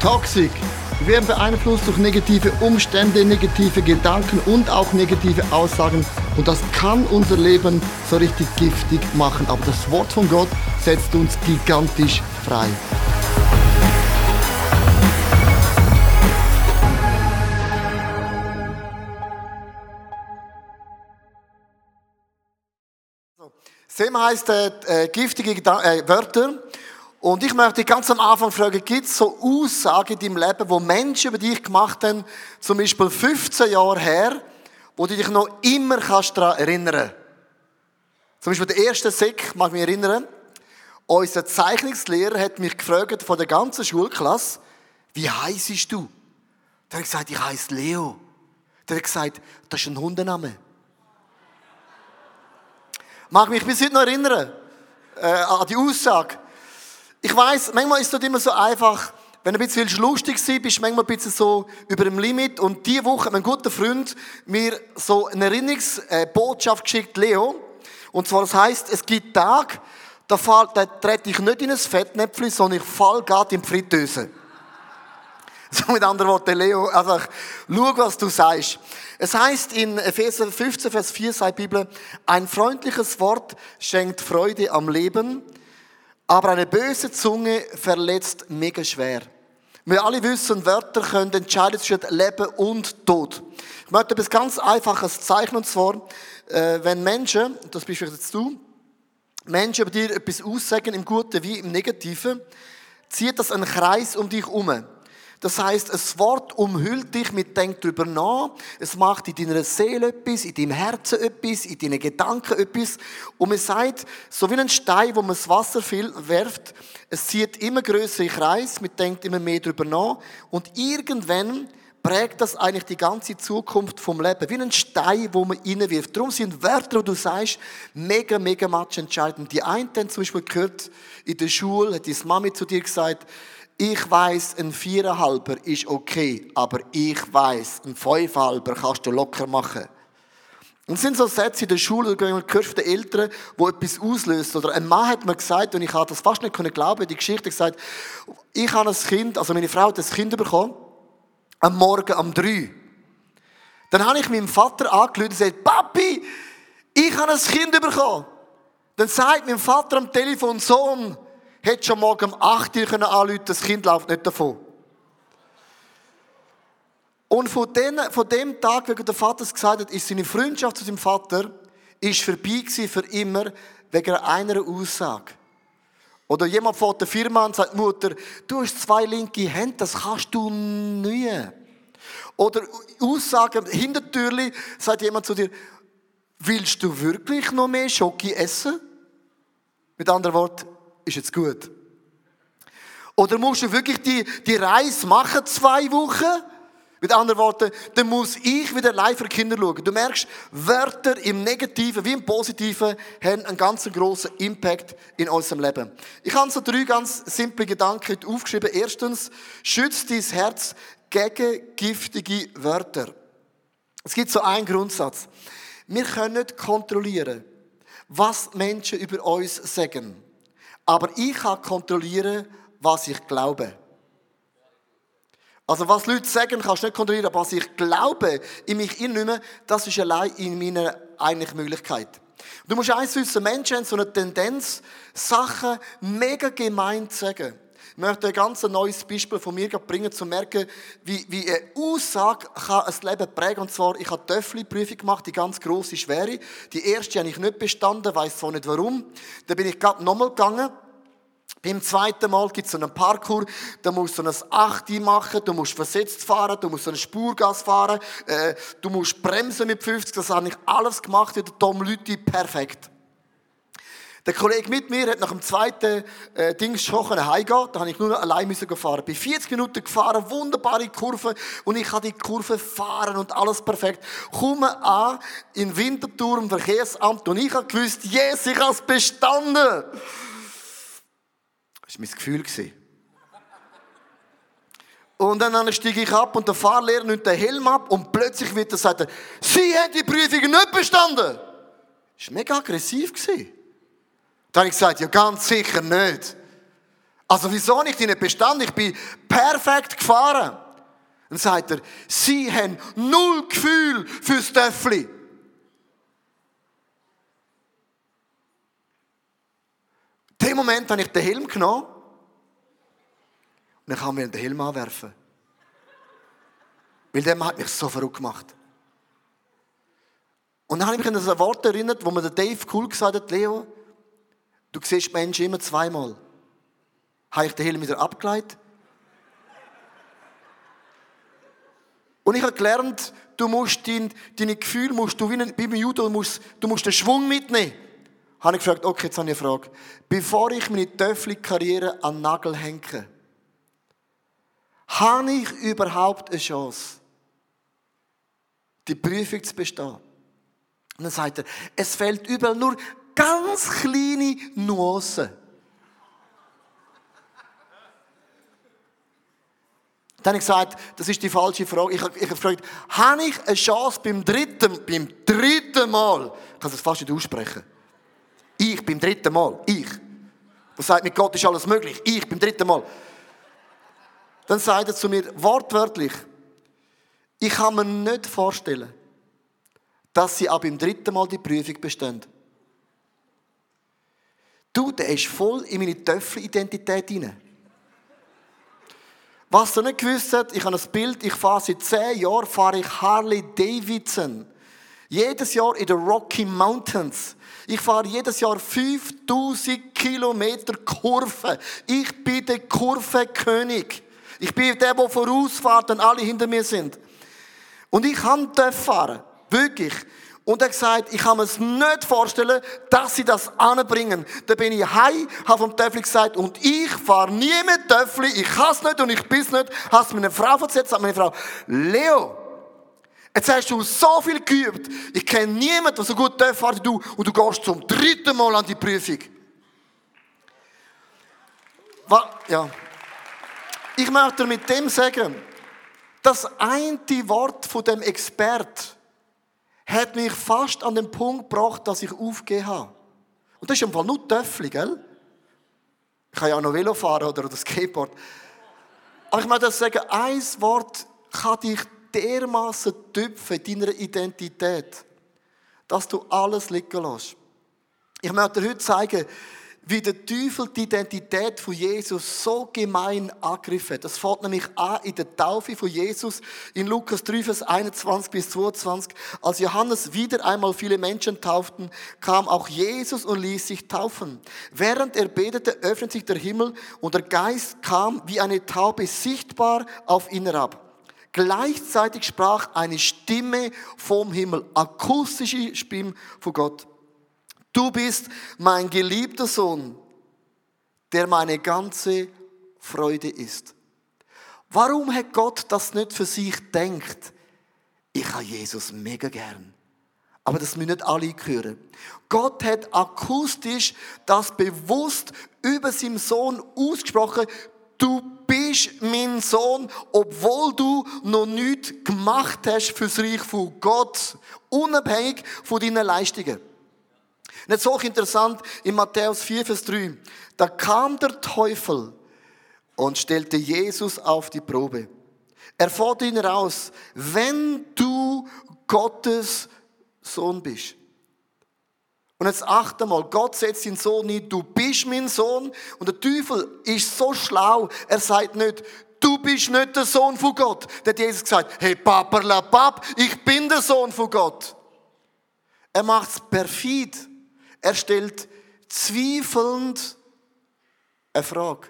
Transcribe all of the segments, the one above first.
Toxic. Wir werden beeinflusst durch negative Umstände, negative Gedanken und auch negative Aussagen. Und das kann unser Leben so richtig giftig machen. Aber das Wort von Gott setzt uns gigantisch frei. Thema heisst giftige Wörter. Und ich möchte dich ganz am Anfang fragen, gibt es so Aussagen in deinem Leben, die Menschen über dich gemacht haben, zum Beispiel 15 Jahre her, wo du dich noch immer daran erinnern kannst? Zum Beispiel der erste Sek, mag ich mich erinnern, unser Zeichnungslehrer hat mich gefragt von der ganzen Schulklasse, wie heisst du? Der hat gesagt, ich heiße Leo. Der hat gesagt, das ist ein Hundename. Mag mich bis heute noch erinnern an die Aussage. Ich weiss, manchmal ist es nicht immer so einfach, wenn du ein bisschen lustig bist, bist du manchmal ein bisschen so über dem Limit. Und diese Woche hat mein guter Freund mir so eine Erinnerungsbotschaft geschickt, Leo. Und zwar, das heisst, es gibt Tage, da trete ich nicht in ein Fettnäpfchen, sondern ich falle gerade in die Fritteuse. So mit anderen Worten, Leo, also schau, was du sagst. Es heisst in Epheser 15, Vers 4, sagt die Bibel, ein freundliches Wort schenkt Freude am Leben, aber eine böse Zunge verletzt mega schwer. Wir alle wissen, Wörter können entscheiden zwischen Leben und Tod. Ich möchte etwas ganz Einfaches zeichnen, und zwar, wenn Menschen, das bist vielleicht jetzt du, Menschen über dir etwas aussagen, im Guten wie im Negativen, zieht das einen Kreis um dich herum. Das heisst, ein Wort umhüllt dich mit Denk drüber nach. Es macht in deiner Seele etwas, in deinem Herzen etwas, in deinen Gedanken etwas. Und man sagt, so wie ein Stein, wo man das Wasser wirft, es zieht immer größere Kreis, man denkt immer mehr drüber nach. Und irgendwann prägt das eigentlich die ganze Zukunft vom Leben. Wie ein Stein, wo man reinwirft. Darum sind Wörter, die du sagst, mega, mega entscheidend. Die einen haben zum Beispiel gehört, in der Schule hat deine Mami zu dir gesagt, ich weiss, ein 4,5er ist okay, aber ich weiss, ein 5,5er kannst du locker machen. Und es sind so Sätze in der Schule, du hörst von den Eltern, die etwas auslösen. Oder ein Mann hat mir gesagt, und ich habe das fast nicht glauben, die Geschichte gesagt, ich habe ein Kind, also meine Frau hat ein Kind bekommen, am Morgen um 3. Dann habe ich meinem Vater angerufen und gesagt, Papi, ich habe ein Kind bekommen. Dann sagt mein Vater am Telefon, Sohn, hätte schon morgen um 8 Uhr anrufen, das Kind läuft nicht davon. Und von dem Tag, wie der Vater es gesagt hat, ist seine Freundschaft zu seinem Vater ist vorbei gewesen für immer, wegen einer Aussage. Oder jemand von der Firma und sagt, Mutter, du hast 2 linke Hände, das kannst du nie. Oder Aussagen, Hintertürli, sagt jemand zu dir, willst du wirklich noch mehr Schoki essen? Mit anderen Worten, ist jetzt gut. Oder musst du wirklich die Reise machen, 2 Wochen? Mit anderen Worten, dann muss ich wieder live für Kinder schauen. Du merkst, Wörter im Negativen wie im Positiven haben einen ganz grossen Impact in unserem Leben. Ich habe so 3 ganz simple Gedanken aufgeschrieben. Erstens, schütze dein Herz gegen giftige Wörter. Es gibt so einen Grundsatz. Wir können nicht kontrollieren, was Menschen über uns sagen. Aber ich kann kontrollieren, was ich glaube. Also was Leute sagen, kannst du nicht kontrollieren, aber was ich glaube, in mich innehme, das ist allein in meiner eigentlichen Möglichkeit. Du musst eins wissen, Menschen haben so eine Tendenz, Sachen mega gemein zu sagen. Ich möchte ein ganz neues Beispiel von mir bringen, um zu merken, wie eine Aussage kann ein Leben prägen. Und zwar, ich habe die TOEFL-Prüfung gemacht, die ganz grosse, schwere. Die erste habe ich nicht bestanden, weiss zwar nicht warum. Dann bin ich gerade nochmal gegangen. Beim zweiten Mal gibt es so einen Parkour, da musst du so ein 8 machen, du musst versetzt fahren, du musst so einen Spurgas fahren, du musst bremsen mit 50, das habe ich alles gemacht, wie der Tom Lüthi, perfekt. Der Kollege mit mir hat nach dem zweiten Ding schon heimgehen, da habe ich nur noch allein fahren. Bei 40 Minuten gefahren, wunderbare Kurve und ich kann die Kurve fahren und alles perfekt. Komme an in Winterthur im Verkehrsamt und ich habe gewusst, yes, ich habe es bestanden. Das war mein Gefühl. Und dann steige ich ab und der Fahrlehrer nimmt den Helm ab und plötzlich wird er sagen, Sie haben die Prüfung nicht bestanden. Das war mega aggressiv. Da habe ich gesagt, ja ganz sicher nicht. Also wieso nicht? Ich nicht bestanden, ich bin perfekt gefahren. Dann sagt er, sie haben null Gefühl fürs Töffli. In dem Moment habe ich den Helm genommen und dann kann man den Helm anwerfen. Weil der hat mich so verrückt gemacht. Und dann habe ich mich an das Wort erinnert, wo mir der Dave Cool gesagt hat, Leo, du siehst Menschen immer zweimal. Habe ich den Helm wieder abgelegt? Und ich habe gelernt, du musst deine Gefühle, wie beim Judo, du musst den Schwung mitnehmen. Habe ich gefragt, okay, jetzt habe ich eine Frage. Bevor ich meine Töffli-Karriere an den Nagel hänge, habe ich überhaupt eine Chance, die Prüfung zu bestehen? Und dann sagt er, es fehlt überall nur ganz kleine Nuancen. Dann habe ich gesagt, das ist die falsche Frage. Ich habe gefragt, habe ich eine Chance beim dritten Mal? Ich kann das fast nicht aussprechen. Ich beim dritten Mal. Ich. Der sagt, mit Gott ist alles möglich. Ich beim dritten Mal. Dann sagt er zu mir wortwörtlich, ich kann mir nicht vorstellen, dass sie ab dem dritten Mal die Prüfung bestehen. Du, der ist voll in meine Töffel-Identität hinein. Was du nicht gewusst hast, ich habe ein Bild, ich fahre seit 10 Jahren Harley Davidson. Jedes Jahr in den Rocky Mountains. Ich fahre jedes Jahr 5000 Kilometer Kurven. Ich bin der Kurvenkönig. Ich bin der vorausfährt, wenn alle hinter mir sind. Und ich kann fahren. Wirklich. Und er hat gesagt, ich kann mir es nicht vorstellen, dass sie das anbringen. Da bin ich heim, habe vom Töffli gesagt, und ich fahre nie mit Töffli, ich kann es nicht und ich bin es nicht. Hast meine Frau erzählt, sagt meine Frau, Leo, jetzt hast du so viel geübt, ich kenne niemanden, der so gut fährt wie du, und du gehst zum 3. Mal an die Prüfung. Ja. Ich möchte mit dem sagen, das eine Wort von dem Expert hat mich fast an den Punkt gebracht, dass ich aufgegeben habe. Und das ist im Fall nur Töffli, gell? Ich kann ja auch noch Velo fahren oder Skateboard. Aber ich möchte sagen, ein Wort kann dich dermassen tüpfen in deiner Identität, dass du alles liegen lässt. Ich möchte dir heute zeigen, wie der Teufel die Identität von Jesus so gemein angegriffen hat. Das fängt nämlich an in der Taufe von Jesus in Lukas 3, Vers 21 bis 22. Als Johannes wieder einmal viele Menschen tauften, kam auch Jesus und ließ sich taufen. Während er betete, öffnete sich der Himmel und der Geist kam wie eine Taube sichtbar auf ihn herab. Gleichzeitig sprach eine Stimme vom Himmel, akustische Stimme von Gott. Du bist mein geliebter Sohn, der meine ganze Freude ist. Warum hat Gott das nicht für sich gedacht? Ich habe Jesus mega gern. Aber das müssen nicht alle hören. Gott hat akustisch das bewusst über seinen Sohn ausgesprochen. Du bist mein Sohn, obwohl du noch nichts gemacht hast für das Reich von Gott. Unabhängig von deinen Leistungen. Nicht so interessant, in Matthäus 4, Vers 3. Da kam der Teufel und stellte Jesus auf die Probe. Er forderte ihn heraus, wenn du Gottes Sohn bist. Und jetzt achte mal, Gott setzt seinen Sohn nicht, du bist mein Sohn. Und der Teufel ist so schlau, er sagt nicht, du bist nicht der Sohn von Gott. Der hat Jesus gesagt, hey Paperlapap, ich bin der Sohn von Gott. Er macht es perfid. Er stellt zweifelnd eine Frage.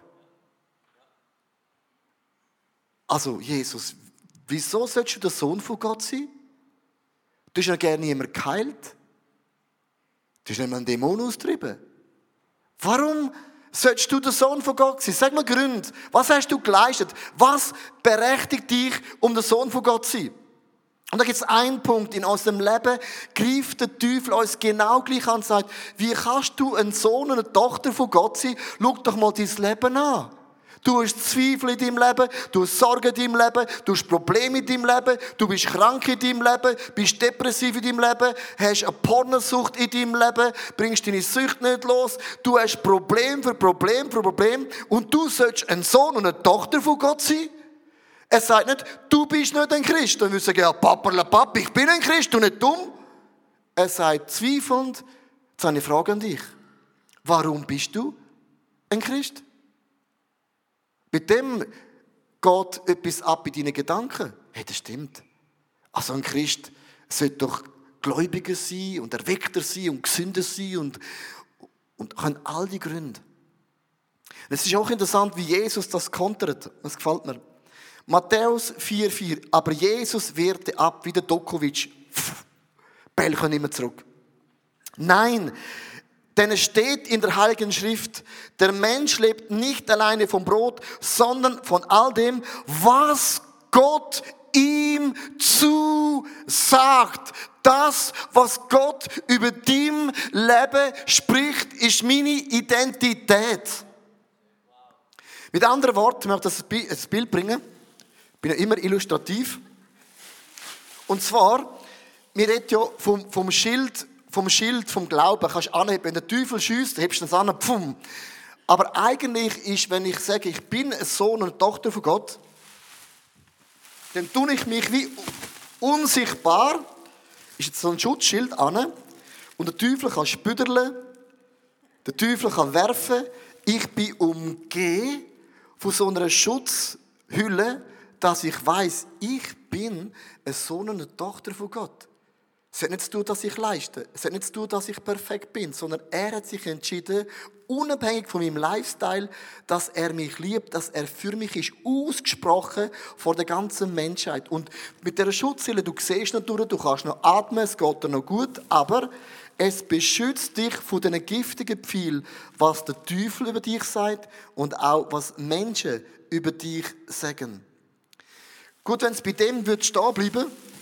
Also, Jesus, wieso sollst du der Sohn von Gott sein? Du hast ja gerne jemanden geheilt. Du hast nicht mal einen Dämon austrieben. Warum sollst du der Sohn von Gott sein? Sag mal Gründe. Was hast du geleistet? Was berechtigt dich, um der Sohn von Gott zu sein? Und da gibt es einen Punkt in unserem Leben, greift der Teufel uns genau gleich an und sagt, wie kannst du ein Sohn und eine Tochter von Gott sein? Schau doch mal dein Leben an. Du hast Zweifel in deinem Leben, du hast Sorgen in deinem Leben, du hast Probleme in deinem Leben, du bist krank in deinem Leben, bist depressiv in deinem Leben, hast eine Pornosucht in deinem Leben, bringst deine Sucht nicht los, du hast Problem für Problem für Problem und du sollst ein Sohn und eine Tochter von Gott sein. Er sagt nicht, du bist nicht ein Christ. Dann würde ich sagen, ja, Papa, ich bin ein Christ und nicht dumm. Er sagt zweifelnd, jetzt habe ich eine Frage an dich. Warum bist du ein Christ? Mit dem geht etwas ab in deinen Gedanken. Hey, das stimmt. Also ein Christ sollte doch gläubiger sein und erweckter sein und gesünder sein und kann all die Gründe. Es ist auch interessant, wie Jesus das kontert. Das gefällt mir. Matthäus 4,4. Aber Jesus wehrte ab, wie der Dokovic. Bell können immer zurück. Nein, denn es steht in der Heiligen Schrift, der Mensch lebt nicht alleine vom Brot, sondern von all dem, was Gott ihm zusagt. Das, was Gott über dein Leben spricht, ist meine Identität. Mit anderen Worten, ich möchte das Bild bringen. Ich bin ja immer illustrativ. Und zwar, wir reden ja vom Schild, vom Glauben. Kannst du anheben, wenn der Teufel schiesst, hebst du das an, pfum. Aber eigentlich ist, wenn ich sage, ich bin ein Sohn und eine Tochter von Gott, dann tue ich mich wie unsichtbar, ist jetzt so ein Schutzschild an, und der Teufel kann spüderlen, der Teufel kann werfen. Ich bin umgeben von so einer Schutzhülle, dass ich weiss, ich bin ein Sohn und eine Tochter von Gott. Es hat nicht zu tun, dass ich leiste. Es hat nicht zu tun, dass ich perfekt bin, sondern er hat sich entschieden, unabhängig von meinem Lifestyle, dass er mich liebt, dass er für mich ist, ausgesprochen vor der ganzen Menschheit. Und mit dieser Schutzhülle, du siehst natürlich, du kannst noch atmen, es geht dir noch gut, aber es beschützt dich von diesen giftigen Pfeilen, was der Teufel über dich sagt und auch was Menschen über dich sagen. Gut, wenn es bei dem stehen bleiben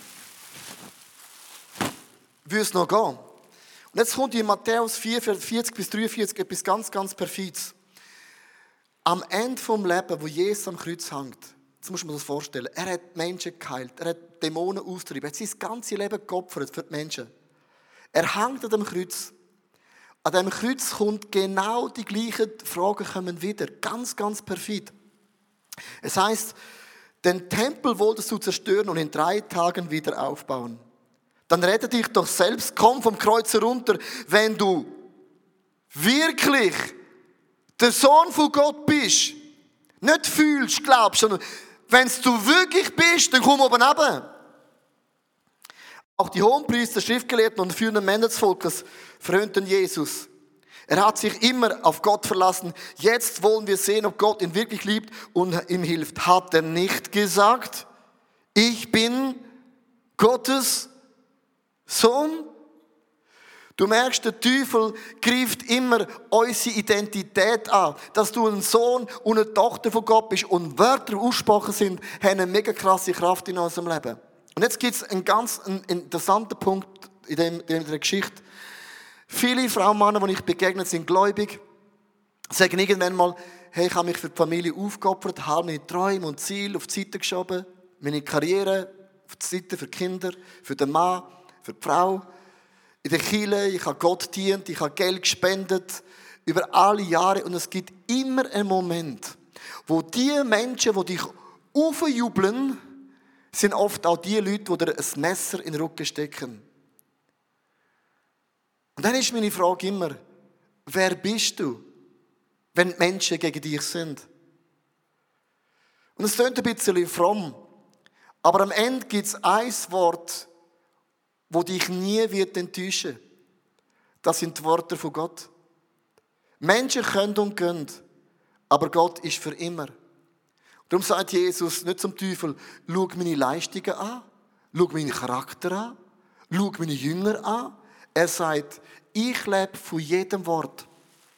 würde es noch gehen. Und jetzt kommt in Matthäus 4, 40 bis 43 etwas ganz, ganz Perfides. Am Ende vom Leben, wo Jesus am Kreuz hängt, jetzt muss man sich das vorstellen, er hat Menschen geheilt, er hat Dämonen austrieben, er hat sein ganzes Leben geopfert für die Menschen. Er hängt an dem Kreuz. An dem Kreuz kommt genau die gleichen Fragen kommen wieder. Ganz, ganz perfid. Es heisst, den Tempel wolltest du zerstören und in 3 Tagen wieder aufbauen. Dann rette dich doch selbst, komm vom Kreuz herunter, wenn du wirklich der Sohn von Gott bist. Nicht fühlst, glaubst, sondern wenn du wirklich bist, dann komm oben runter. Auch die Hohenpriester, Schriftgelehrten und führenden Männer des Volkes verhöhnten Jesus. Er hat sich immer auf Gott verlassen. Jetzt wollen wir sehen, ob Gott ihn wirklich liebt und ihm hilft. Hat er nicht gesagt, ich bin Gottes Sohn? Du merkst, der Teufel greift immer unsere Identität an. Dass du ein Sohn und eine Tochter von Gott bist und Wörter aussprachen sind, haben eine mega krasse Kraft in unserem Leben. Und jetzt gibt es einen ganz interessanten Punkt in der Geschichte. Viele Frauen und Männer, die ich begegnet, sind gläubig, sagen irgendwann mal, hey, ich habe mich für die Familie aufgeopfert, habe meine Träume und Ziele auf die Seite geschoben, meine Karriere auf die Seite für die Kinder, für den Mann, für die Frau. In der Kirche, ich habe Gott gedient, ich habe Geld gespendet, über alle Jahre. Und es gibt immer einen Moment, wo die Menschen, die dich aufjubeln, sind oft auch die Leute, die dir ein Messer in den Rücken stecken. Und dann ist meine Frage immer, wer bist du, wenn die Menschen gegen dich sind? Und es klingt ein bisschen fromm, aber am Ende gibt es ein Wort, wo dich nie wird enttäuschen. Das sind die Worte von Gott. Menschen können und gehen, aber Gott ist für immer. Darum sagt Jesus nicht zum Teufel, schau meine Leistungen an, schau meinen Charakter an, schau meine Jünger an. Er sagt, ich lebe von jedem Wort.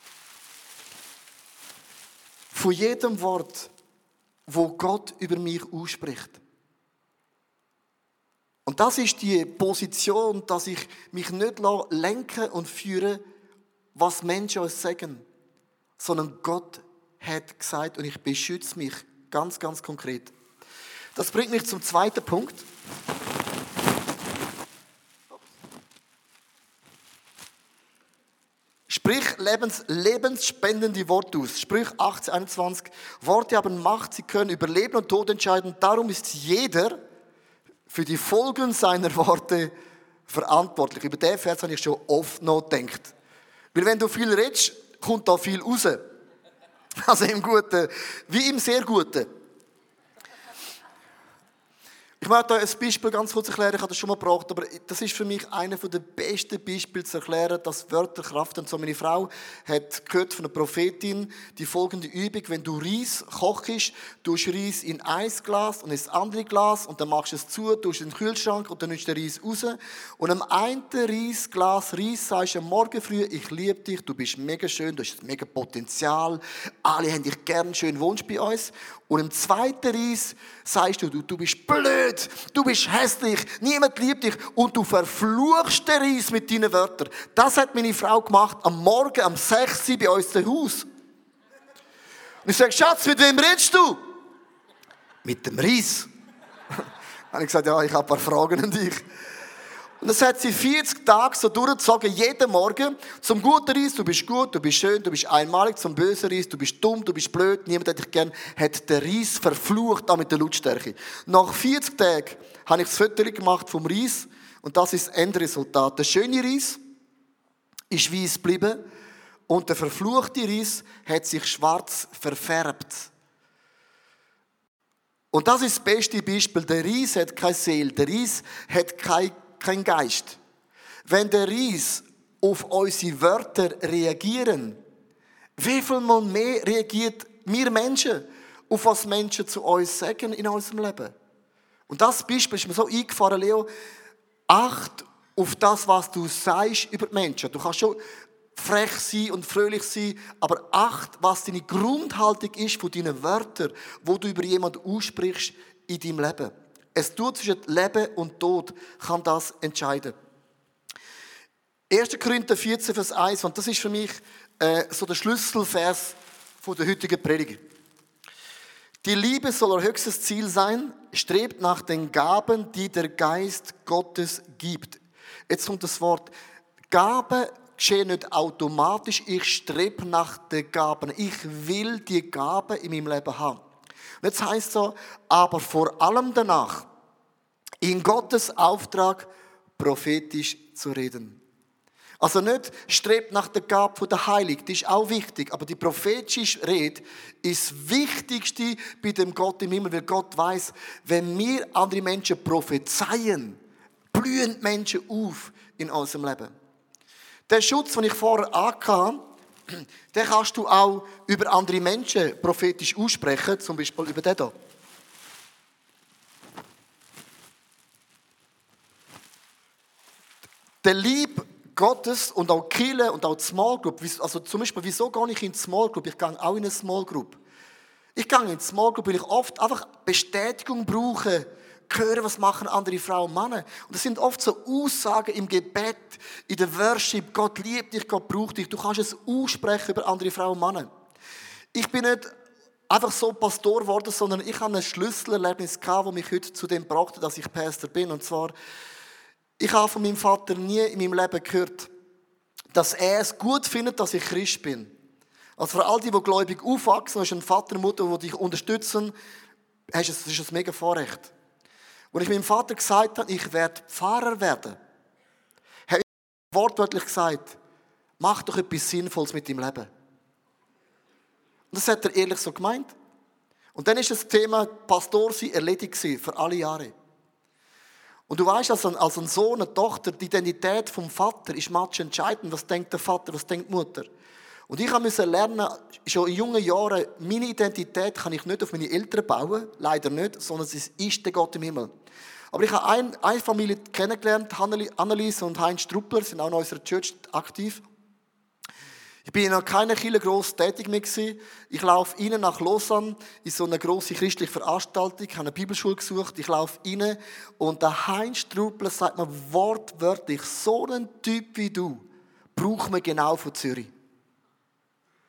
Von jedem Wort, wo Gott über mich ausspricht. Und das ist die Position, dass ich mich nicht lenken und führen, was Menschen uns sagen, sondern Gott hat gesagt und ich beschütze mich ganz, ganz konkret. Das bringt mich zum zweiten Punkt. Sprich lebensspendende Worte aus. Sprüch 18,21. Worte haben Macht, sie können über Leben und Tod entscheiden. Darum ist jeder für die Folgen seiner Worte verantwortlich. Über den Vers habe ich schon oft noch gedacht. Weil wenn du viel redest, kommt da viel raus. Also im Guten wie im sehr Guten. Ich möchte euch ein Beispiel ganz kurz erklären, ich habe das schon mal gebracht, aber das ist für mich einer der besten Beispiele zu erklären, dass Wörter Kraft haben. So, meine Frau hat gehört von einer Prophetin die folgende Übung: Wenn du Reis kochst, tust du Reis in ein Glas und ins andere Glas und dann machst du es zu, tust in den Kühlschrank und dann nimmst du den Reis raus. Und am einen Reisglas Reis sagst du am Morgen früh: Ich liebe dich, du bist mega schön, du hast mega Potenzial, alle haben dich gern, schön wohnst bei uns. Und im zweiten Reis sagst du, du bist blöd, du bist hässlich, niemand liebt dich und du verfluchst den Reis mit deinen Wörtern. Das hat meine Frau gemacht am Morgen, um 6 Uhr bei uns zu Hause. Und ich sage: Schatz, mit wem redest du? Mit dem Reis. Dann habe ich gesagt: Ja, ich habe ein paar Fragen an dich. Und das hat sie 40 Tage so durchgezogen, jeden Morgen. Zum guten Reis: Du bist gut, du bist schön, du bist einmalig. Zum bösen Reis: Du bist dumm, du bist blöd, niemand hat dich gern. Hat den Reis verflucht, auch mit der Lautstärke. Nach 40 Tagen habe ich das Foto gemacht vom Reis. Und das ist das Endresultat. Der schöne Reis ist weiß geblieben. Und der verfluchte Reis hat sich schwarz verfärbt. Und das ist das beste Beispiel. Der Reis hat keine Seele, der Reis hat kein Geist. Wenn der Reis auf unsere Wörter reagieren, wie viel mal mehr reagiert wir Menschen auf was Menschen zu uns sagen in unserem Leben? Und das Beispiel ist mir so eingefahren, Leo. Acht auf das, was du sagst über die Menschen. Du kannst schon frech sein und fröhlich sein, aber acht, was deine Grundhaltung ist von deinen Wörtern, wo du über jemanden aussprichst in deinem Leben. Es tut zwischen Leben und Tod, kann das entscheiden. 1. Korinther 14, Vers 1, und das ist für mich so der Schlüsselvers von der heutigen Predigt. Die Liebe soll euer höchstes Ziel sein, strebt nach den Gaben, die der Geist Gottes gibt. Jetzt kommt das Wort: Gaben geschehen nicht automatisch, ich strebe nach den Gaben. Ich will die Gaben in meinem Leben haben. Und jetzt heisst es so: aber vor allem danach, in Gottes Auftrag prophetisch zu reden. Also nicht strebt nach der Gabe der Heiligen, die ist auch wichtig, aber die prophetische Rede ist das Wichtigste bei dem Gott im Himmel, weil Gott weiss, wenn wir andere Menschen prophezeien, blühen Menschen auf in unserem Leben. Der Schutz, den ich vorher angehört, den kannst du auch über andere Menschen prophetisch aussprechen, zum Beispiel über den hier. Der Liebe Gottes und auch die Kirche und auch die Small Group, also zum Beispiel, wieso gehe ich in die Small Group? Ich gehe auch in eine Small Group. Ich gehe in die Small Group, weil ich oft einfach Bestätigung brauche, hören, was machen andere Frauen und Männer. Und das sind oft so Aussagen im Gebet, in der Worship: Gott liebt dich, Gott braucht dich. Du kannst es aussprechen über andere Frauen und Männer. Ich bin nicht einfach so Pastor geworden, sondern ich habe ein Schlüsselerlebnis gehabt, das mich heute zu dem brachte, dass ich Pastor bin. Und zwar: Ich habe von meinem Vater nie in meinem Leben gehört, dass er es gut findet, dass ich Christ bin. Also für all die gläubig aufwachsen, hast du einen Vater und Mutter, die dich unterstützen, das ist ein mega Vorrecht. Als ich meinem Vater gesagt habe, ich werde Pfarrer werden, habe ich wortwörtlich gesagt: Mach doch etwas Sinnvolles mit deinem Leben. Und das hat er ehrlich so gemeint. Und dann ist das Thema Pastor sein erledigt für alle Jahre. Und du weißt, als ein Sohn, eine Tochter, die Identität vom Vater ist match entscheidend. Was denkt der Vater, was denkt die Mutter? Und ich musste lernen, schon in jungen Jahren, meine Identität kann ich nicht auf meine Eltern bauen, leider nicht, sondern es ist der Gott im Himmel. Aber ich habe eine Familie kennengelernt, Annelies und Heinz Struppler, sind auch in unserer Church aktiv. Ich bin noch keine Kirche gross tätig mehr gewesen. Ich laufe rein nach Lausanne in so eine grosse christliche Veranstaltung, ich habe eine Bibelschule gesucht, ich laufe rein und der Heinz Struppler sagt mir wortwörtlich: So einen Typ wie du braucht man genau von Zürich.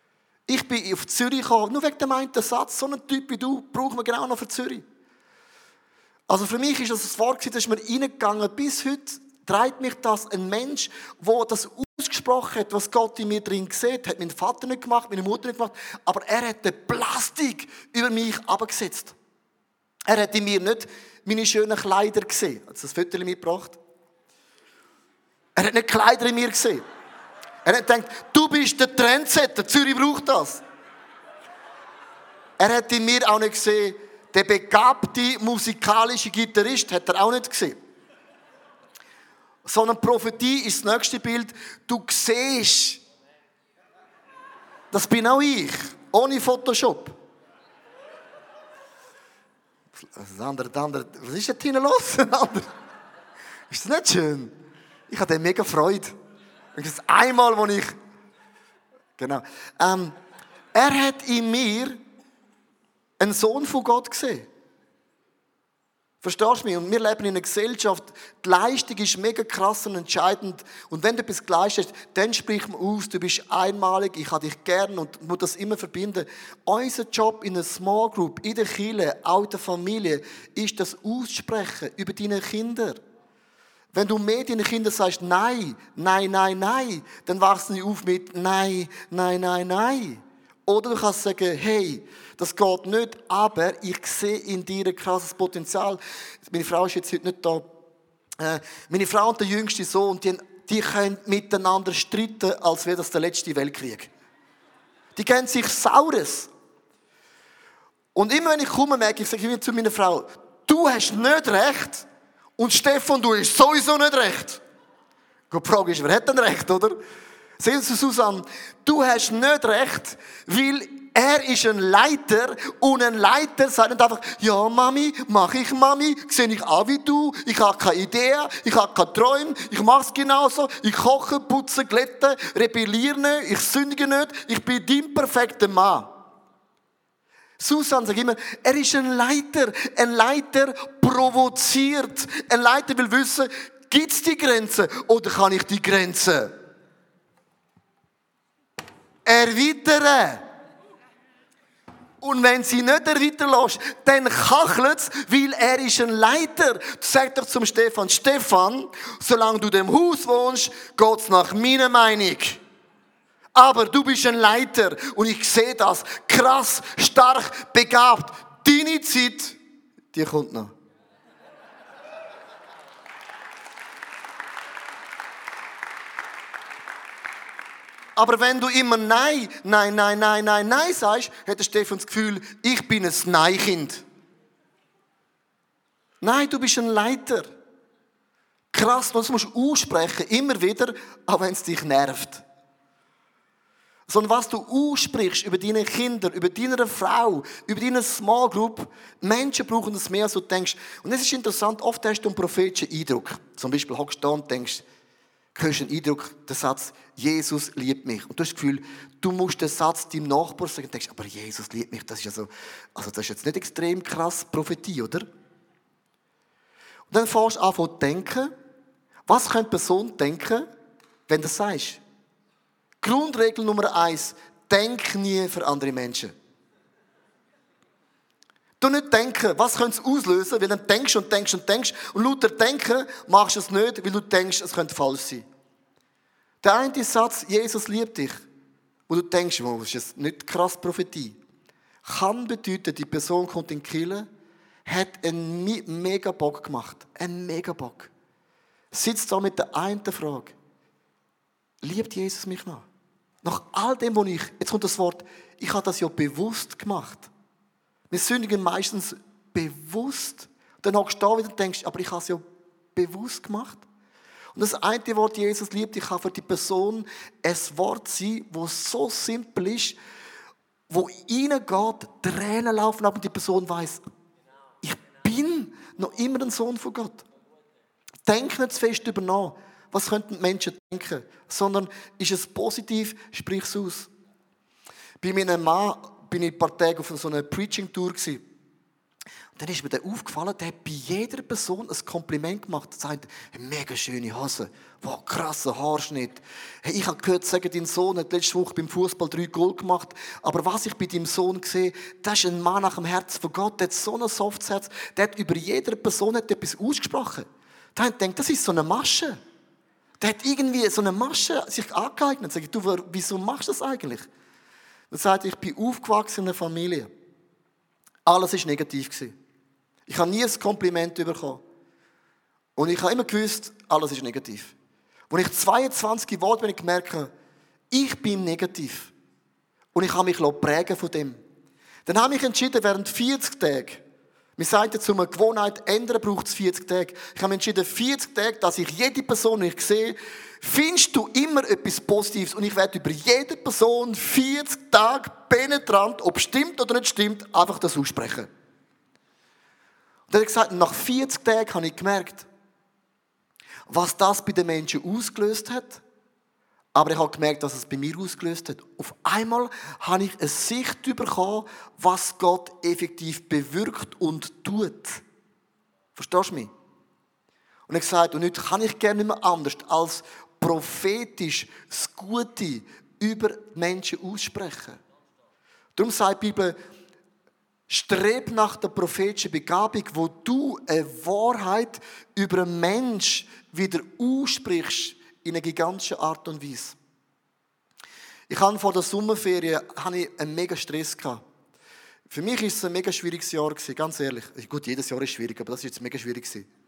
Ich bin auf Zürich gekommen, nur wegen dem einen Satz. So einen Typ wie du brauchen wir genau noch für Zürich. Also für mich ist das ein Wort, das ist mir reingegangen. Bis heute treibt mich das ein Mensch, der das ausgesprochen hat, was Gott in mir drin sieht. Hat mein Vater nicht gemacht, meine Mutter nicht gemacht. Aber er hat eine Plastik über mich abgesetzt. Er hat in mir nicht meine schönen Kleider gesehen. Hat das Foto mitgebracht? Er hat nicht Kleider in mir gesehen. Er hat gedacht, du bist der Trendsetter, Zürich braucht das. Er hat in mir auch nicht gesehen, der begabte musikalische Gitarrist hat er auch nicht gesehen. Sondern Prophetie ist das nächste Bild. Du siehst, das bin auch ich, ohne Photoshop. Das andere, was ist denn hinten los? Ist das nicht schön? Ich hatte mega Freude. Das einmal, wo ich... Genau. Er hat in mir einen Sohn von Gott gesehen. Verstehst du mich? Und wir leben in einer Gesellschaft, die Leistung ist mega krass und entscheidend. Und wenn du etwas geleistet hast, dann sprich man aus, du bist einmalig, ich habe dich gern und muss das immer verbinden. Unser Job in einer Small Group, in der Kirche, auch in der Familie, ist das Aussprechen über deine Kinder. Wenn du mehr deinen Kindern sagst, nein, nein, nein, nein, dann wachsen sie auf mit nein, nein, nein, nein. Oder du kannst sagen, hey, das geht nicht, aber ich sehe in dir ein krasses Potenzial. Meine Frau ist jetzt heute nicht da. Meine Frau und der jüngste Sohn, die können miteinander streiten, als wäre das der letzte Weltkrieg. Die kennen sich Saures. Und immer wenn ich komme, merke ich, sage immer zu meiner Frau, du hast nicht recht und Stefan, du hast sowieso nicht recht. Die Frage ist, wer hat denn recht, oder? Sehen Sie, Susanne, du hast nicht recht, weil er ist ein Leiter und ein Leiter sagt nicht einfach, ja Mami, mache ich Mami, sehe ich auch wie du, ich habe keine Idee, ich habe keine Träume, ich mache es genauso, ich koche, putze, glätte, rebelliere nicht, ich sündige nicht, ich bin dein perfekter Mann. Susanne sagt immer, er ist ein Leiter provoziert, ein Leiter will wissen, gibt es die Grenze oder kann ich die Grenze erweitern? Und wenn sie nicht erweitern lässt, dann kachelt es, weil er ist ein Leiter. Sag doch zum Stefan, Stefan, solange du in dem Haus wohnst, geht es nach meiner Meinung. Aber du bist ein Leiter und ich sehe das. Krass, stark, begabt. Deine Zeit, die kommt noch. Aber wenn du immer Nein sagst, hat der Stefan das Gefühl, ich bin ein Nein-Kind. Nein, du bist ein Leiter. Krass, das musst du aussprechen, immer wieder, auch wenn es dich nervt. Sondern was du aussprichst über deine Kinder, über deine Frau, über deine Small Group, Menschen brauchen das mehr, als du denkst. Und es ist interessant, oft hast du einen prophetischen Eindruck. Zum Beispiel hockst du da und denkst, du hörst einen Eindruck, der Satz, Jesus liebt mich. Und du hast das Gefühl, du musst den Satz deinem Nachbarn sagen und denkst, aber Jesus liebt mich, das ist ja so, also das ist jetzt nicht extrem krass Prophetie, oder? Und dann fängst du an zu denken, was könnte die Person denken, wenn du das sagst? Grundregel Nummer 1, denk nie für andere Menschen. Du nicht denken, was könnte es auslösen, weil dann denkst und denkst und denkst und lauter denken machst du es nicht, weil du denkst, es könnte falsch sein. Der eine Satz, Jesus liebt dich, wo du denkst, das ist jetzt nicht krass Prophetie, kann bedeuten, die Person kommt in die Kirche, hat einen mega Bock gemacht, einen mega Bock. Sitzt da mit der einen Frage, liebt Jesus mich noch? Nach all dem, was jetzt kommt das Wort, ich habe das ja bewusst gemacht. Wir sündigen meistens bewusst. Dann hockst du da wieder und denkst, aber ich habe es ja bewusst gemacht. Und das eine Wort, Jesus liebt, ich kann für die Person ein Wort sein, das so simpel ist, wo reingeht, Tränen laufen ab und die Person weiss, ich bin noch immer ein Sohn von Gott. Denk nicht zu fest über nach, was könnten die Menschen denken, sondern ist es positiv, sprich es aus. Bei meinem Mann bin ich ein paar Tage auf so einer Preaching-Tour gewesen. dann ist mir der aufgefallen, der hat bei jeder Person ein Kompliment gemacht. Er sagt, mega schöne Hose, wow, krasser Haarschnitt. Hey, ich habe gehört, sagen, dein Sohn hat letzte Woche beim Fußball 3 Goal gemacht. Aber was ich bei deinem Sohn sehe, das ist ein Mann nach dem Herzen von Gott. Der hat so ein softes Herz. Der hat über jede Person etwas ausgesprochen. Der hat gedacht, das ist so eine Masche. Der hat irgendwie so eine Masche sich angeeignet. Sag ich, du, wieso machst du das eigentlich? Er sagt, ich bin aufgewachsen in einer Familie. Alles war negativ. Ich habe nie ein Kompliment bekommen. Und ich habe immer gewusst, alles ist negativ. Als ich 22 geworden bin, habe ich gemerkt, ich bin negativ. Und ich habe mich prägen von dem. Dann habe ich entschieden, während 40 Tagen, wir sagen jetzt, um eine Gewohnheit zu ändern, braucht es 40 Tage. Ich habe entschieden, 40 Tage, dass ich jede Person, die ich sehe, findest du immer etwas Positives. Und ich werde über jede Person 40 Tage penetrant, ob es stimmt oder nicht stimmt, einfach das aussprechen. Und er hat gesagt, nach 40 Tagen habe ich gemerkt, was das bei den Menschen ausgelöst hat. Aber ich habe gemerkt, dass es bei mir ausgelöst hat. Auf einmal habe ich eine Sicht bekommen, was Gott effektiv bewirkt und tut. Verstehst du mich? Und er hat gesagt, und heute kann ich gerne nicht mehr anders als prophetisch das Gute über die Menschen aussprechen. Darum sagt die Bibel, streb nach der prophetischen Begabung, wo du eine Wahrheit über einen Menschen wieder aussprichst in einer gigantischen Art und Weise. Ich hatte vor der Sommerferien einen mega Stress gehabt. Für mich war es ein mega schwieriges Jahr, ganz ehrlich. Gut, jedes Jahr ist schwierig, aber das war jetzt mega schwierig.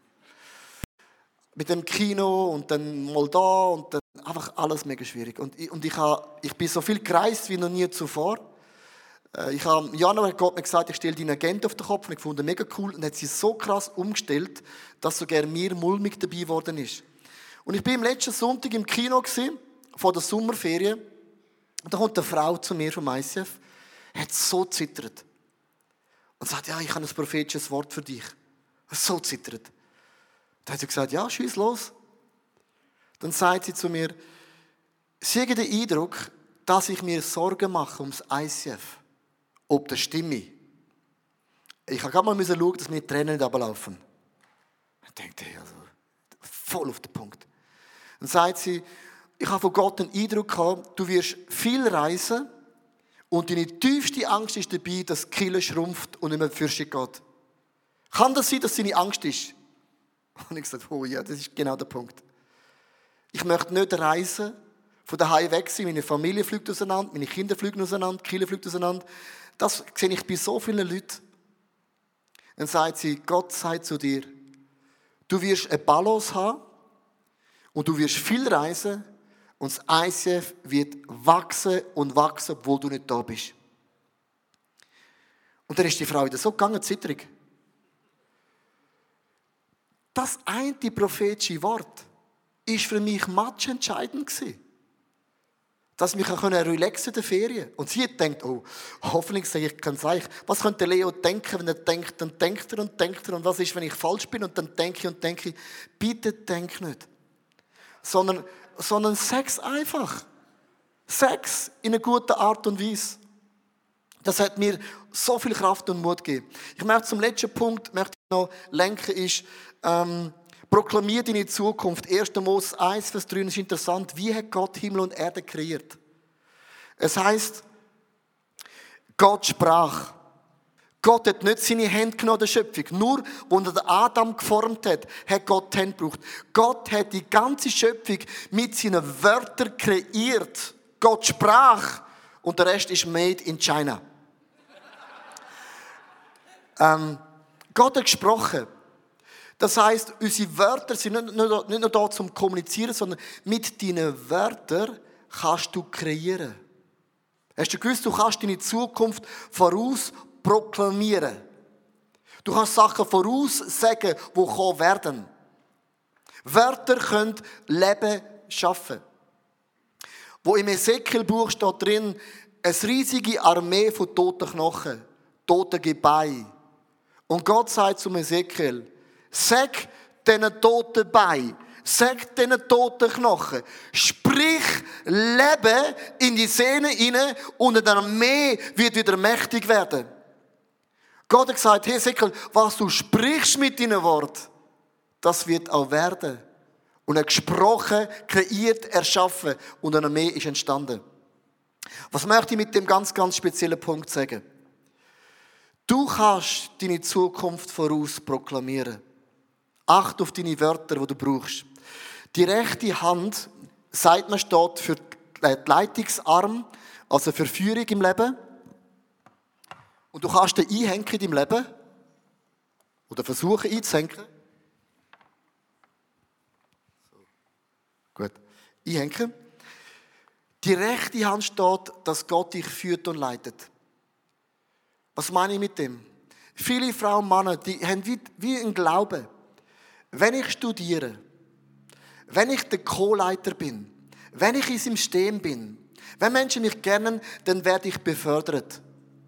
Mit dem Kino und dann mal da und dann einfach alles mega schwierig. Und ich bin so viel gereist wie noch nie zuvor. Im Januar hat Gott mir gesagt, ich stelle deine Agenda auf den Kopf und ich fand mega cool und hat sie so krass umgestellt, dass sogar mir mulmig dabei geworden ist. Und ich war am letzten Sonntag im Kino vor der Sommerferien und da kommt eine Frau zu mir vom ICF, hat so zittert und sagt, ja, ich habe ein prophetisches Wort für dich. So zittert. Dann hat sie gesagt, ja, schieß los. Dann sagt sie zu mir, sie haben den Eindruck, dass ich mir Sorgen mache ums ICF. Ob das stimme. Ich habe gerade mal schauen, dass mir die Tränen nicht runterlaufen. Ich dachte, also, voll auf den Punkt. Dann sagt sie, ich habe von Gott den Eindruck gehabt, du wirst viel reisen und deine tiefste Angst ist dabei, dass die Kirche schrumpft und nicht mehr für sich geht. Kann das sein, dass deine Angst ist? Und ich gesagt, oh ja, das ist genau der Punkt. Ich möchte nicht reisen, von daheim weg sein, meine Familie fliegt auseinander, meine Kinder fliegen auseinander, die Kirche fliegt auseinander. Das sehe ich bei so vielen Leuten. Dann sagt sie, Gott sagt zu dir, du wirst eine Balance haben und du wirst viel reisen und das ICF wird wachsen und wachsen, obwohl du nicht da bist. Und dann ist die Frau wieder so gegangen, zitterig. Das eine prophetische Wort ist für mich matchentscheidend gewesen. Dass ich mich relaxen in der Ferien. Und sie denkt, oh, hoffentlich sage ich kein Zeichen. Was könnte Leo denken, wenn er denkt, dann denkt er und denkt er. Und was ist, wenn ich falsch bin und dann denke ich und denke. Bitte denk nicht. Sondern sag's einfach. Sag's in einer guten Art und Weise. Das hat mir so viel Kraft und Mut gegeben. Ich möchte zum letzten Punkt noch lenken, ist, proklamiert deine Zukunft. 1. Mose 1, Vers 3 ist interessant. Wie hat Gott Himmel und Erde kreiert? Es heisst, Gott sprach. Gott hat nicht seine Hände genommen der Schöpfung. Nur, als er den Adam geformt hat, hat Gott die Hände gebraucht. Gott hat die ganze Schöpfung mit seinen Wörtern kreiert. Gott sprach und der Rest ist made in China. Gott hat gesprochen. Das heisst, unsere Wörter sind nicht nur da zum Kommunizieren, sondern mit deinen Wörtern kannst du kreieren. Hast du gewusst, du kannst deine Zukunft voraus proklamieren. Du kannst Sachen voraussagen, die kommen werden. Wörter können Leben schaffen. Wo im Ezekiel-Buch steht drin, eine riesige Armee von toten Knochen, toten Gebeinen. Und Gott sagt zum Ezekiel, sag diesen toten Beinen, sag diesen toten Knochen, sprich Leben in die Sehnen hinein und eine Armee wird wieder mächtig werden. Gott hat gesagt, Hesekiel, was du sprichst mit deinem Wort, das wird auch werden. Und er hat gesprochen, kreiert, erschaffen und eine Armee ist entstanden. Was möchte ich mit dem ganz, ganz speziellen Punkt sagen? Du kannst deine Zukunft voraus proklamieren. Acht auf deine Wörter, die du brauchst. Die rechte Hand, sagt man, steht für die Leitungsarm, also für Führung im Leben. Und du kannst den einhängen in deinem Leben. Oder versuchen einzuhängen. So. Gut. Einhängen. Die rechte Hand steht, dass Gott dich führt und leitet. Was meine ich mit dem? Viele Frauen und Männer, die haben wie einen Glauben. Wenn ich studiere, wenn ich der Co-Leiter bin, wenn ich in seinem System bin, wenn Menschen mich kennen, dann werde ich befördert.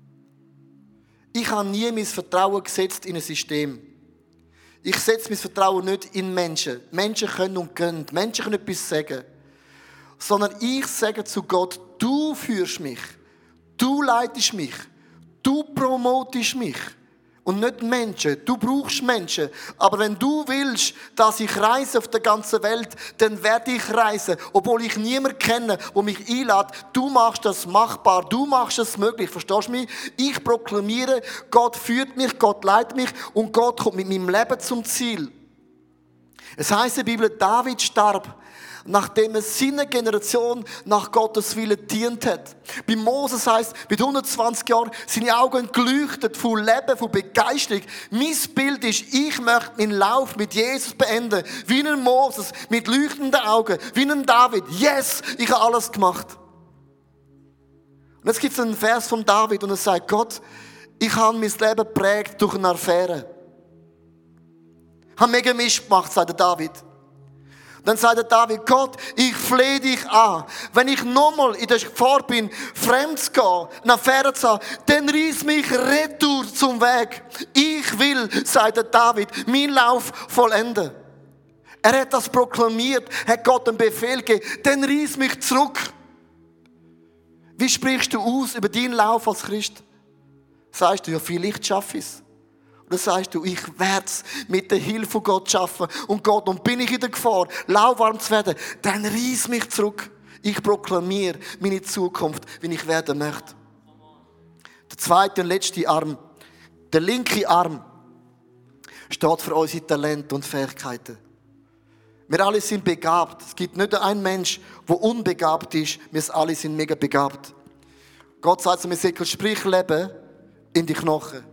Ich habe nie mein Vertrauen gesetzt in ein System. Ich setze mein Vertrauen nicht in Menschen. Menschen können und können. Menschen können etwas sagen. Sondern ich sage zu Gott, du führst mich. Du leitest mich. Du promotest mich. Und nicht Menschen. Du brauchst Menschen. Aber wenn du willst, dass ich reise auf der ganzen Welt, dann werde ich reisen. Obwohl ich niemanden kenne, der mich einlädt. Du machst das machbar. Du machst es möglich. Verstehst du mich? Ich proklamiere, Gott führt mich, Gott leitet mich und Gott kommt mit meinem Leben zum Ziel. Es heisst in der Bibel, David starb, nachdem er seiner Generation nach Gottes Willen dient hat. Bei Moses heisst, mit 120 Jahren seine Augen geleuchtet von Leben, von Begeisterung. Mein Bild ist, ich möchte meinen Lauf mit Jesus beenden. Wie ein Moses, mit leuchtenden Augen. Wie ein David. Yes, ich habe alles gemacht. Und jetzt gibt es einen Vers von David und er sagt, Gott, ich habe mein Leben geprägt durch eine Affäre. Ich habe mega Mist gemacht, sagt der David. Dann sagt der David, Gott, ich flehe dich an. Wenn ich nochmal in der Gefahr bin, fremd zu gehen, eine Affäre zu haben, dann reiss mich retour zum Weg. Ich will, sagt der David, meinen Lauf vollenden. Er hat das proklamiert, hat Gott einen Befehl gegeben, dann reiss mich zurück. Wie sprichst du aus über deinen Lauf als Christ? Sagst du, ja, vielleicht schaffe ich es. Oder sagst du, ich werde es mit der Hilfe von Gott schaffen. Und Gott, und bin ich in der Gefahr, lauwarm zu werden, dann reiss mich zurück. Ich proklamiere meine Zukunft, wie ich werden möchte. Der zweite und letzte Arm, der linke Arm, steht für unsere Talente und Fähigkeiten. Wir alle sind begabt. Es gibt nicht einen Mensch, der unbegabt ist. Wir alle sind mega begabt. Gott sagt zu mir, Ezekiel, sprich Leben in die Knochen.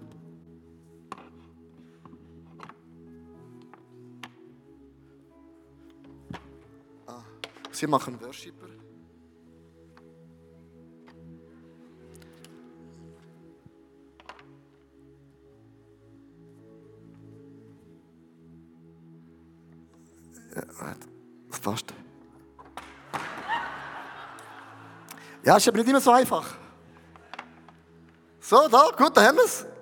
Sie machen Worshipper. Ja, das passt. Ja, ist aber nicht immer so einfach. So, da, gut, da haben wir es.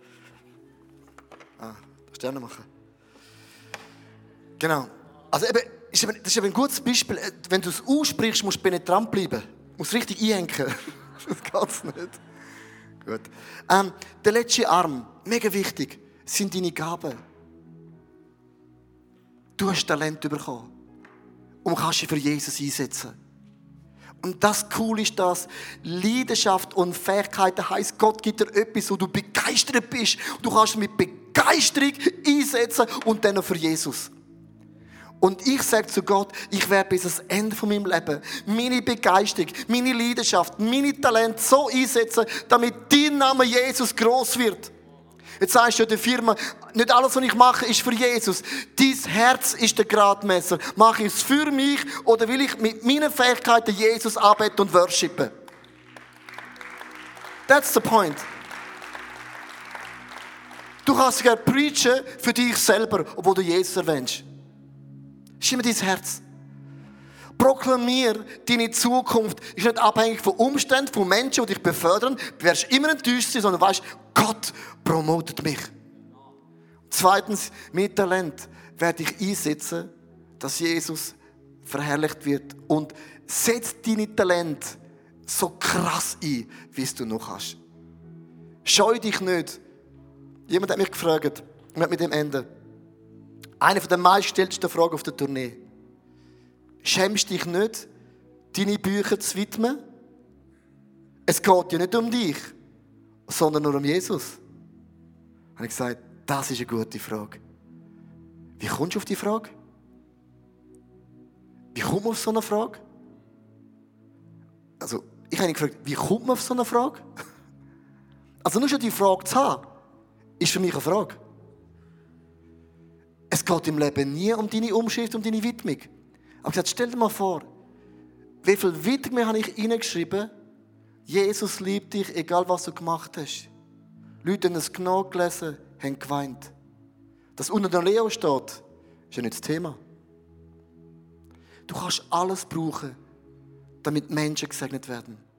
Sterne machen. Genau. Also eben, das ist eben ein gutes Beispiel. Wenn du es aussprichst, musst du penetrant bleiben. Du musst richtig einhängen. Das geht's nicht. Gut. Der letzte Arm, mega wichtig, sind deine Gaben. Du hast Talent bekommen und kannst dich für Jesus einsetzen. Und das Coole ist das, Leidenschaft und Fähigkeiten heisst, Gott gibt dir etwas, wo du begeistert bist. Du kannst mit Begeisterung einsetzen und dann noch für Jesus. Und ich sage zu Gott, ich werde bis ans Ende von meinem Leben meine Begeisterung, meine Leidenschaft, meine Talente so einsetzen, damit dein Name Jesus gross wird. Jetzt sagst du der Firma, nicht alles, was ich mache, ist für Jesus. Dein Herz ist der Gradmesser. Mache ich es für mich oder will ich mit meinen Fähigkeiten Jesus anbeten und worshipen? That's the point. Du kannst sogar preachen für dich selber, obwohl du Jesus erwähnst. Das ist immer dein Herz. Proklamier, deine Zukunft ist nicht abhängig von Umständen, von Menschen, die dich befördern. Du wirst immer enttäuscht sein, sondern weißt, Gott promotet mich. Zweitens, mein Talent werde ich einsetzen, dass Jesus verherrlicht wird. Und setz deine Talente so krass ein, wie es du noch hast. Scheu dich nicht Jemand hat mich gefragt, ich werde mit dem enden. Eine der meistgestellten Fragen auf der Tournee. Schämst dich nicht, deine Bücher zu widmen? Es geht ja nicht um dich, sondern nur um Jesus. Habe ich gesagt, das ist eine gute Frage. Wie kommst du auf die Frage? Wie kommt man auf so eine Frage? Also, ich habe ihn gefragt, wie kommt man auf so eine Frage? Also nur schon die Frage zu haben, ist für mich eine Frage. Es geht im Leben nie um deine Umschrift, um deine Widmung. Aber ich gesagt, stell dir mal vor, wie viel Widmung habe ich reingeschrieben? Jesus liebt dich, egal was du gemacht hast. Leute haben es genau gelesen, haben geweint. Dass unter der Leo steht, ist ja nicht das Thema. Du kannst alles brauchen, damit Menschen gesegnet werden.